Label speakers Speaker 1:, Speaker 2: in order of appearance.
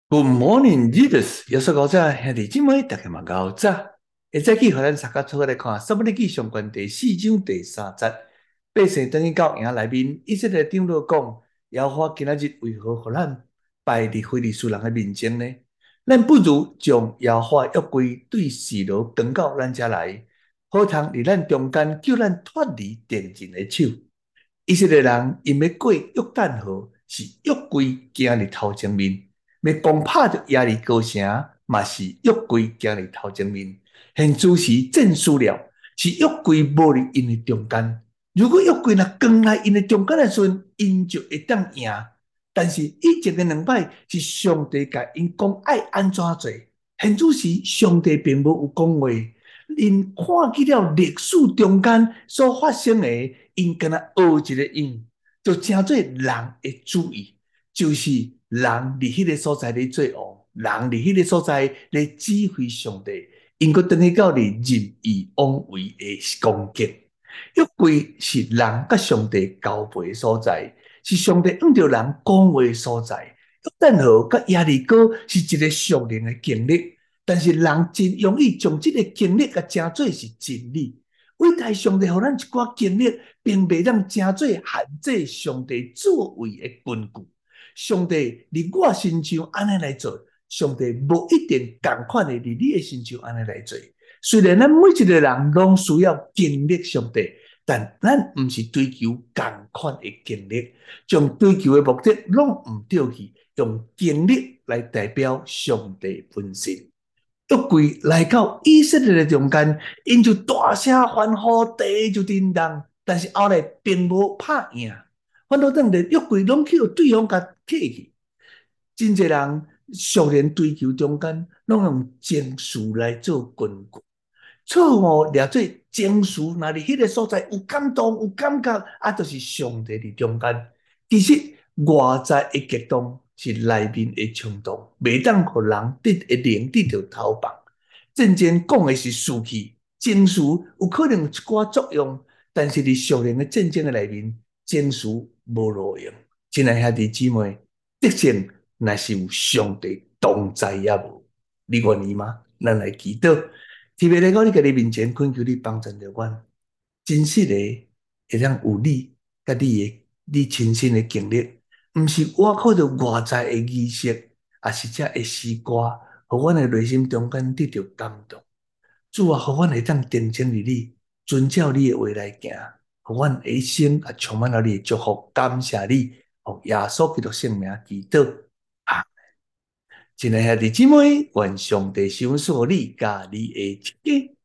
Speaker 1: Good morning, Jesus！耶穌高早，兄弟姊妹，大家嘛高早。會早起，互咱大家做伙來看《撒母耳記上卷》第4章第3節。百姓轉去到營內面，以色列長老講：耶和華今仔日為何互咱敗佇非利士人的面前呢？咱不如將耶和華約櫃對示羅扛到咱遮來，好通佇咱中間救咱脫離敵人的手。以色列人因要過約旦河，是約櫃行佇頭前面。要攻打着耶利哥城，嘛是約櫃行佇頭前面。現此時戰輸了，是約櫃無佇因的中間。如果約櫃若扛來因的中間的時陣，因就會當贏。但是以前的兩擺是上帝甲因講愛安怎做，現此時上帝並無有講話。因看見了歷史中間所發生的，因敢若學一個樣，就成做人的主意，就是人佇迄個所在咧做王，人佇迄個所在咧指揮上帝，因閣轉去到咧任意妄為的攻擊。約櫃是人甲上帝交配的所在，是上帝按着人講話的所在。約旦河甲耶利哥是一個屬靈的經歷。但是人真容易將這個經歷甲稱做是真理。偉大上帝予咱一寡經歷，並袂當稱做限制上帝作為的根據。上帝佇我身上安尼來做，上帝無一定同款的佇你的身上安尼來做。雖然咱每一個人攏需要經歷上帝，但咱毋是追求同款的經歷，將追求的目的攏毋對去，用經歷來代表上帝本身。約櫃來到以色列的中間，因就大聲歡呼，地就震動，但是後來並無拍贏，反倒當連約櫃攏去對方甲摕去。真濟人屬靈追求中間，攏用情緒來做根據，錯誤掠做情緒，若佇迄個所在有感動、有感覺，就是上帝佇中間。其實外在的激動是內面的衝動，袂當互人靈得到投放。真正講的是士氣，情緒有可能有一寡作用，但是佇屬靈的戰爭的內面，情緒無路用。親愛兄弟姊妹，得勝若是有上帝同在也無，你願意嗎？咱來祈禱，特別來到你家己面前，懇求你幫助着阮，真實的會當有你甲你親身的經歷。毋是我靠着外在的儀式，也是這的詩歌，互阮的內心中間得到感動。主啊，互阮會當定睛於你，遵照你的話來行，互阮一生也充滿了你的祝福。感謝你，奉耶穌基督聖名祈禱。阿們。親愛的兄弟姊妹，願上帝賞賜你甲你的一家。